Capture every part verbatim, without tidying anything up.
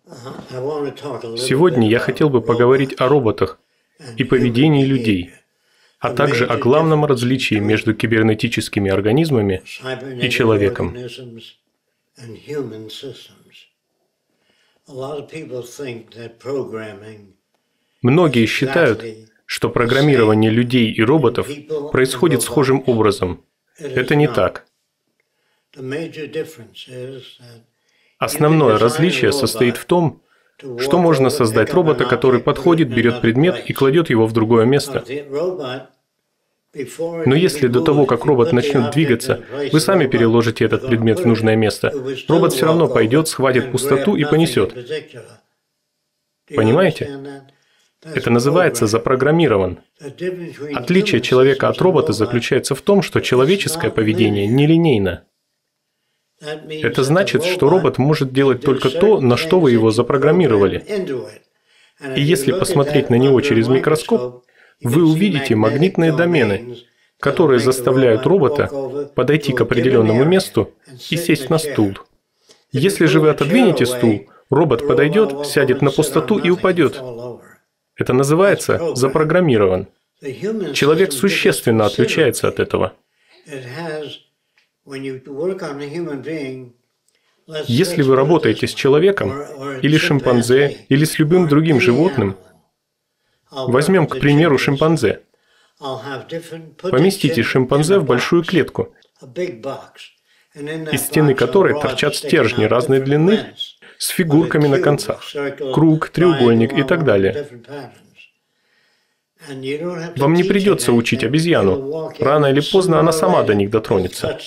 Сегодня я хотел бы поговорить о роботах и поведении людей, а также о главном различии между кибернетическими организмами и человеком. Многие считают, что программирование людей и роботов происходит схожим образом. Это не так. Основное различие состоит в том, что можно создать робота, который подходит, берет предмет и кладет его в другое место. Но если до того, как робот начнет двигаться, вы сами переложите этот предмет в нужное место, робот все равно пойдет, схватит пустоту и понесет. Понимаете? Это называется запрограммирован. Отличие человека от робота заключается в том, что человеческое поведение нелинейно. Это значит, что робот может делать только то, на что вы его запрограммировали. И если посмотреть на него через микроскоп, вы увидите магнитные домены, которые заставляют робота подойти к определенному месту и сесть на стул. Если же вы отодвинете стул, робот подойдет, сядет на пустоту и упадет. Это называется запрограммирован. Человек существенно отличается от этого. Если вы работаете с человеком, или шимпанзе, или с любым другим животным, возьмем, к примеру, шимпанзе. Поместите шимпанзе в большую клетку, из стены которой торчат стержни разной длины с фигурками на концах, круг, треугольник и так далее. Вам не придется учить обезьяну. Рано или поздно она сама до них дотронется.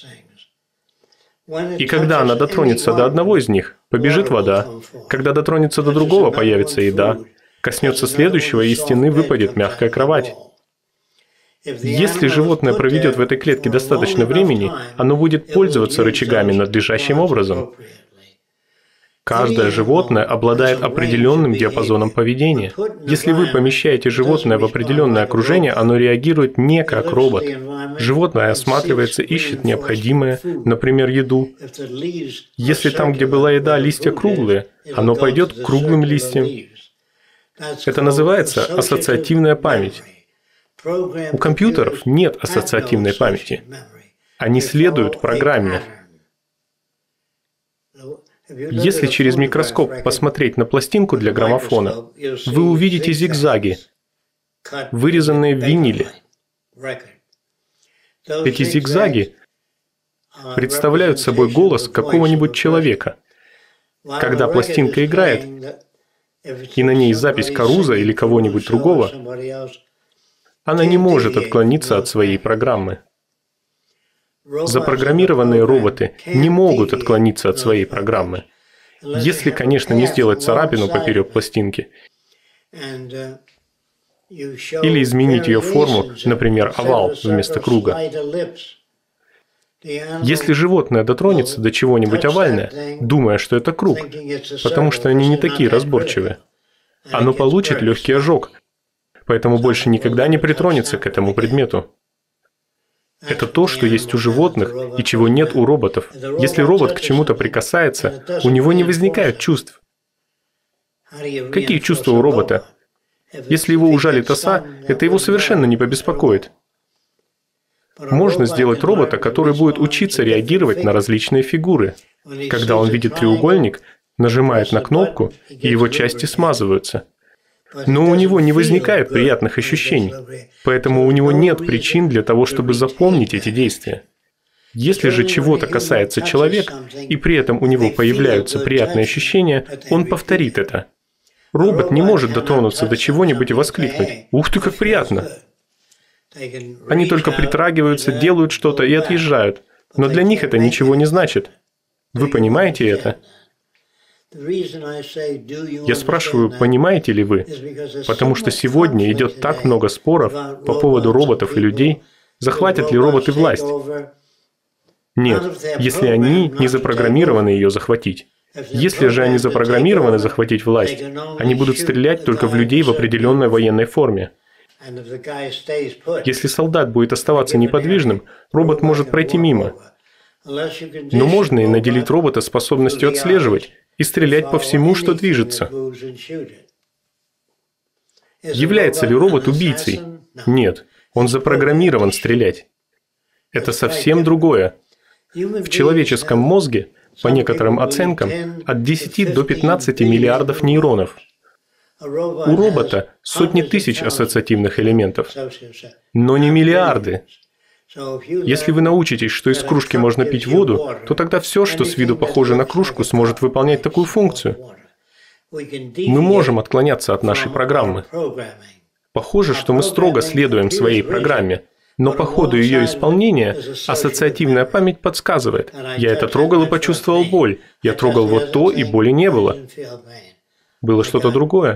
И когда она дотронется до одного из них, побежит вода. Когда дотронется до другого, появится еда. Коснется следующего, и из стены выпадет мягкая кровать. Если животное проведет в этой клетке достаточно времени, оно будет пользоваться рычагами надлежащим образом. Каждое животное обладает определенным диапазоном поведения. Если вы помещаете животное в определенное окружение, оно реагирует не как робот. Животное осматривается, ищет необходимое, например, еду. Если там, где была еда, листья круглые, оно пойдет к круглым листьям. Это называется ассоциативная память. У компьютеров нет ассоциативной памяти. Они следуют программе. Если через микроскоп посмотреть на пластинку для граммофона, вы увидите зигзаги, вырезанные в виниле. Эти зигзаги представляют собой голос какого-нибудь человека. Когда пластинка играет, и на ней запись Каруза или кого-нибудь другого, она не может отклониться от своей программы. Запрограммированные роботы не могут отклониться от своей программы. Если, конечно, не сделать царапину поперек пластинки, или изменить ее форму, например, овал вместо круга. Если животное дотронется до чего-нибудь овальное, думая, что это круг, потому что они не такие разборчивые, оно получит легкий ожог, поэтому больше никогда не притронется к этому предмету. Это то, что есть у животных и чего нет у роботов. Если робот к чему-то прикасается, у него не возникает чувств. Какие чувства у робота? Если его ужалит оса, это его совершенно не побеспокоит. Можно сделать робота, который будет учиться реагировать на различные фигуры. Когда он видит треугольник, нажимает на кнопку, и его части смазываются. Но у него не возникает приятных ощущений, поэтому у него нет причин для того, чтобы запомнить эти действия. Если же чего-то касается человека, и при этом у него появляются приятные ощущения, он повторит это. Робот не может дотронуться до чего-нибудь и воскликнуть: «Ух ты, как приятно!» Они только притрагиваются, делают что-то и отъезжают, но для них это ничего не значит. Вы понимаете это? Я спрашиваю, понимаете ли вы? Потому что сегодня идет так много споров по поводу роботов и людей, захватят ли роботы власть. Нет, если они не запрограммированы ее захватить. Если же они запрограммированы захватить власть, они будут стрелять только в людей в определенной военной форме. Если солдат будет оставаться неподвижным, робот может пройти мимо. Но можно и наделить робота способностью отслеживать и стрелять по всему, что движется. Является ли робот убийцей? Нет, он запрограммирован стрелять. Это совсем другое. В человеческом мозге, по некоторым оценкам, от десяти до пятнадцати миллиардов нейронов. У робота сотни тысяч ассоциативных элементов, но не миллиарды. Если вы научитесь, что из кружки можно пить воду, то тогда все, что с виду похоже на кружку, сможет выполнять такую функцию. Мы можем отклоняться от нашей программы. Похоже, что мы строго следуем своей программе, но по ходу ее исполнения ассоциативная память подсказывает: я это трогал и почувствовал боль, я трогал вот то, и боли не было. Было что-то другое.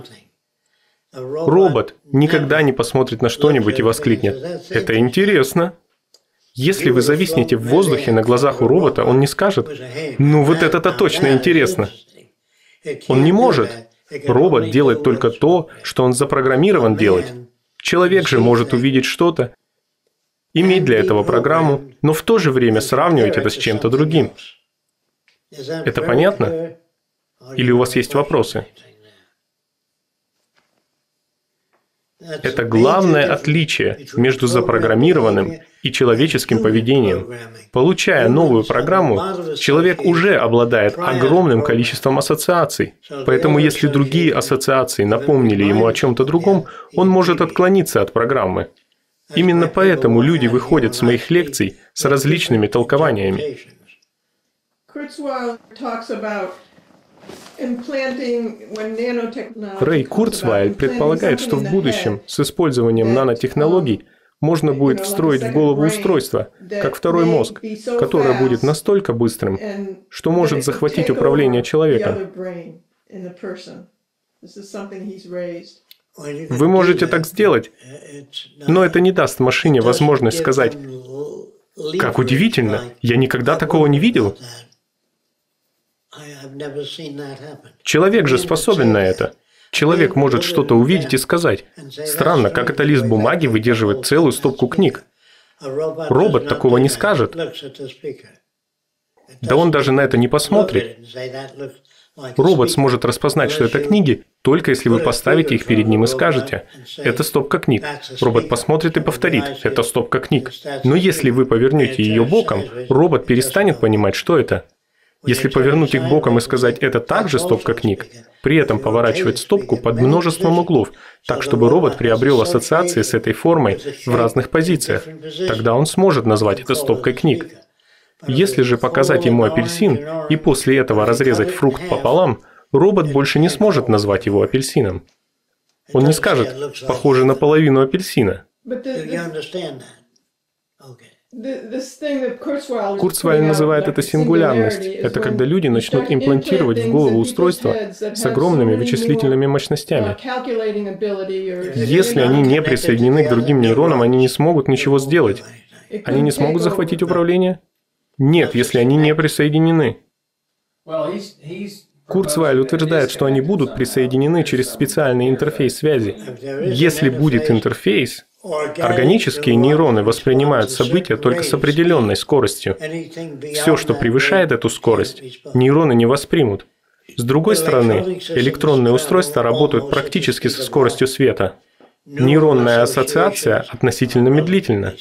Робот никогда не посмотрит на что-нибудь и воскликнет: «Это интересно». Если вы зависнете в воздухе на глазах у робота, он не скажет: «Ну вот это-то точно интересно». Он не может. Робот делает только то, что он запрограммирован делать. Человек же может увидеть что-то, иметь для этого программу, но в то же время сравнивать это с чем-то другим. Это понятно? Или у вас есть вопросы? Это главное отличие между запрограммированным и человеческим поведением. Получая новую программу, человек уже обладает огромным количеством ассоциаций. Поэтому если другие ассоциации напомнили ему о чем-то другом, он может отклониться от программы. Именно поэтому люди выходят с моих лекций с различными толкованиями. Рэй Курцвейл предполагает, что в будущем с использованием нанотехнологий можно будет встроить в голову устройство, как второй мозг, которое будет настолько быстрым, что может захватить управление человеком. Вы можете так сделать, но это не даст машине возможность сказать: «Как удивительно, я никогда такого не видел». Человек же способен на это. Человек может что-то увидеть и сказать: «Странно, как это лист бумаги выдерживает целую стопку книг». Робот такого не скажет. Да он даже на это не посмотрит. Робот сможет распознать, что это книги, только если вы поставите их перед ним и скажете: «Это стопка книг». Робот посмотрит и повторит: «Это стопка книг». Но если вы повернете ее боком, робот перестанет понимать, что это. Если повернуть их боком и сказать: «Это также стопка книг», при этом поворачивать стопку под множеством углов, так, чтобы робот приобрел ассоциации с этой формой в разных позициях, тогда он сможет назвать это стопкой книг. Если же показать ему апельсин и после этого разрезать фрукт пополам, робот больше не сможет назвать его апельсином. Он не скажет: «Похоже на половину апельсина». Курцвейл называет это сингулярность. Это когда люди начнут имплантировать в голову устройства с огромными вычислительными мощностями. Если они не присоединены к другим нейронам, они не смогут ничего сделать. Они не смогут захватить управление? Нет, если они не присоединены. Курцвейл утверждает, что они будут присоединены через специальный интерфейс связи. Если будет интерфейс, органические нейроны воспринимают события только с определенной скоростью. Все, что превышает эту скорость, нейроны не воспримут. С другой стороны, электронные устройства работают практически со скоростью света. Нейронная ассоциация относительно медлительна.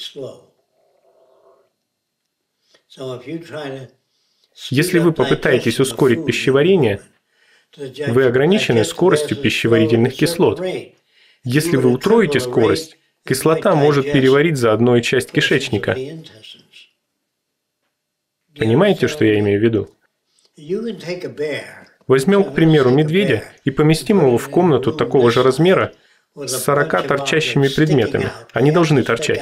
Если вы попытаетесь ускорить пищеварение, вы ограничены скоростью пищеварительных кислот. Если вы утроите скорость, кислота может переварить заодно и часть кишечника. Понимаете, что я имею в виду? Возьмем, к примеру, медведя и поместим его в комнату такого же размера с сорока торчащими предметами. Они должны торчать.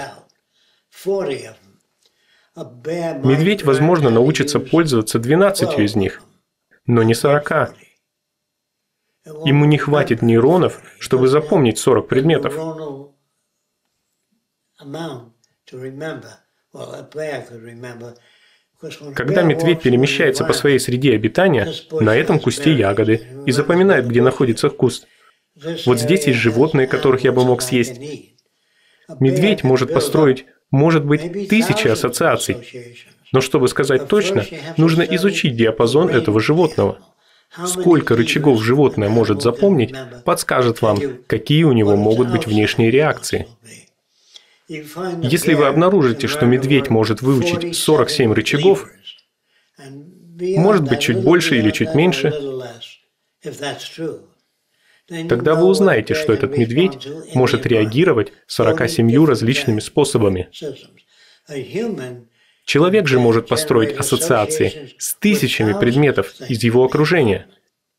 Медведь, возможно, научится пользоваться двенадцатью из них, но не сорока. Ему не хватит нейронов, чтобы запомнить сорок предметов. Когда медведь перемещается по своей среде обитания, на этом кусте ягоды, и запоминает, где находится куст. Вот здесь есть животные, которых я бы мог съесть. Медведь может построить, может быть, тысячи ассоциаций. Но чтобы сказать точно, нужно изучить диапазон этого животного. сколько рычагов животное может запомнить, подскажет вам, какие у него могут быть внешние реакции. Если вы обнаружите, что медведь может выучить сорок семь рычагов, может быть, чуть больше или чуть меньше, тогда вы узнаете, что этот медведь может реагировать сорока семью различными способами. Человек же может построить ассоциации с тысячами предметов из его окружения.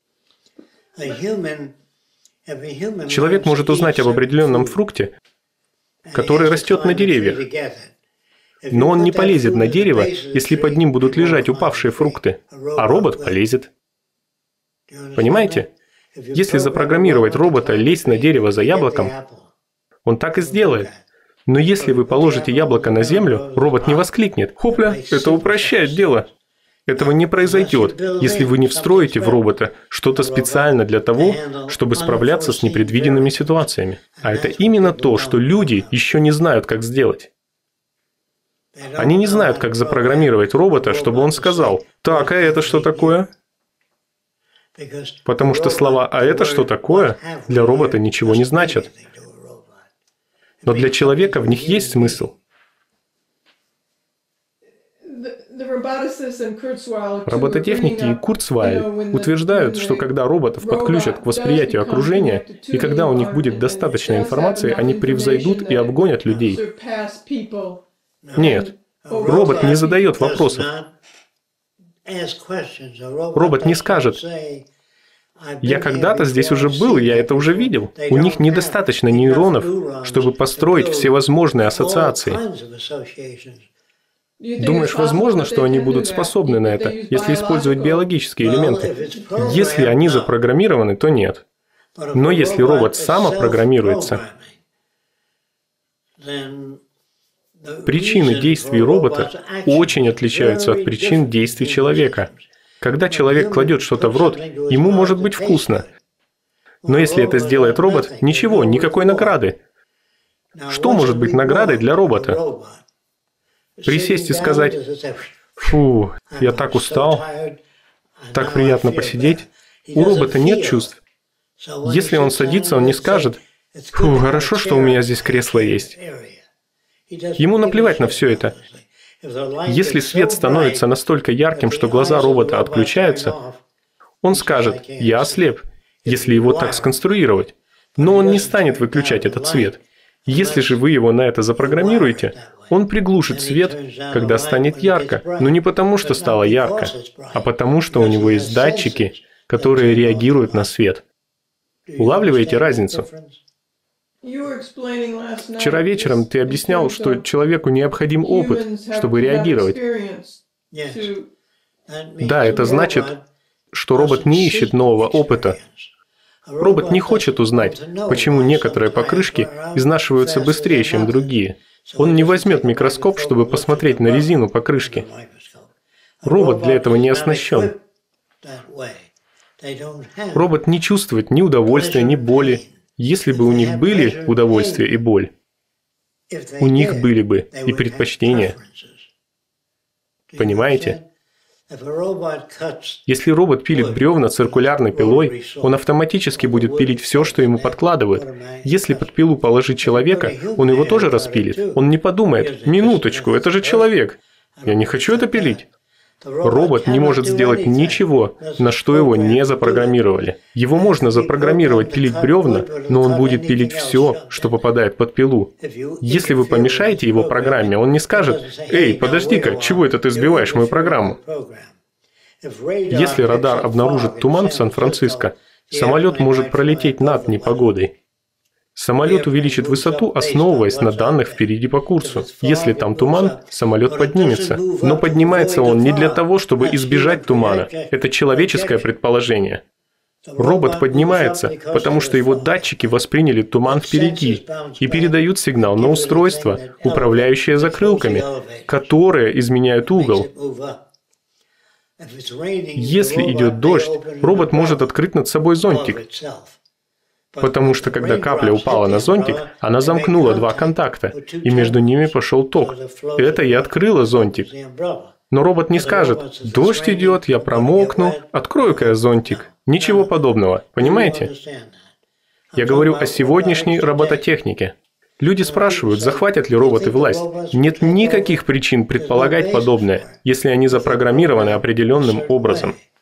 Человек может узнать об определенном фрукте, который растет на деревьях. Но он не полезет на дерево, если под ним будут лежать упавшие фрукты, а робот полезет. Понимаете? Если запрограммировать робота лезть на дерево за яблоком, он так и сделает. Но если вы положите яблоко на землю, робот не воскликнет: «Хопля, это упрощает дело». Этого не произойдет, если вы не встроите в робота что-то специально для того, чтобы справляться с непредвиденными ситуациями. А это именно то, что люди еще не знают, как сделать. Они не знают, как запрограммировать робота, чтобы он сказал: «Так, а это что такое?» Потому что слова «а это что такое» для робота ничего не значат. Но для человека в них есть смысл. Робототехники и Курцвайль утверждают, что когда роботов подключат к восприятию окружения, и когда у них будет достаточно информации, они превзойдут и обгонят людей. Нет, робот не задает вопросов. Робот не скажет: «Я когда-то здесь уже был, я это уже видел». У них недостаточно нейронов, чтобы построить всевозможные ассоциации. Думаешь, возможно, что они будут способны на это, если использовать биологические элементы? Если они запрограммированы, то нет. Но если робот самопрограммируется, причины действий робота очень отличаются от причин действий человека. Когда человек кладет что-то в рот, ему может быть вкусно. Но если это сделает робот, ничего, никакой награды. Что может быть наградой для робота? Присесть и сказать: «Фу, я так устал, так приятно посидеть». У робота нет чувств. Если он садится, он не скажет: «Фу, хорошо, что у меня здесь кресло есть». Ему наплевать на все это. Если свет становится настолько ярким, что глаза робота отключаются, он скажет: «Я ослеп», если его так сконструировать. Но он не станет выключать этот свет. Если же вы его на это запрограммируете, он приглушит свет, когда станет ярко, но не потому, что стало ярко, а потому, что у него есть датчики, которые реагируют на свет. Улавливаете разницу? Вчера вечером ты объяснял, что человеку необходим опыт, чтобы реагировать. Да, это значит, что робот не ищет нового опыта. Робот не хочет узнать, почему некоторые покрышки изнашиваются быстрее, чем другие. Он не возьмет микроскоп, чтобы посмотреть на резину покрышки. Робот для этого не оснащен. Робот не чувствует ни удовольствия, ни боли. Если бы у них были удовольствие и боль, у них были бы и предпочтения. Понимаете? Если робот пилит бревна циркулярной пилой, он автоматически будет пилить все, что ему подкладывают. Если под пилу положить человека, он его тоже распилит. Он не подумает: «Минуточку, это же человек. Я не хочу это пилить». Робот не может сделать ничего, на что его не запрограммировали. Его можно запрограммировать пилить бревна, но он будет пилить все, что попадает под пилу. Если вы помешаете его программе, он не скажет: «Эй, подожди-ка, чего это ты сбиваешь мою программу?» Если радар обнаружит туман в Сан-Франциско, самолет может пролететь над непогодой. Самолет увеличит высоту, основываясь на данных впереди по курсу. Если там туман, самолет поднимется. Но поднимается он не для того, чтобы избежать тумана. Это человеческое предположение. Робот поднимается, потому что его датчики восприняли туман впереди и передают сигнал на устройство, управляющее закрылками, которые изменяют угол. Если идет дождь, робот может открыть над собой зонтик. Потому что, когда капля упала на зонтик, она замкнула два контакта, и между ними пошел ток. Это и открыло зонтик. Но робот не скажет: «Дождь идет, я промокну, открою-ка я зонтик». Ничего подобного, понимаете? Я говорю о сегодняшней робототехнике. Люди спрашивают, захватят ли роботы власть. Нет никаких причин предполагать подобное, если они запрограммированы определенным образом.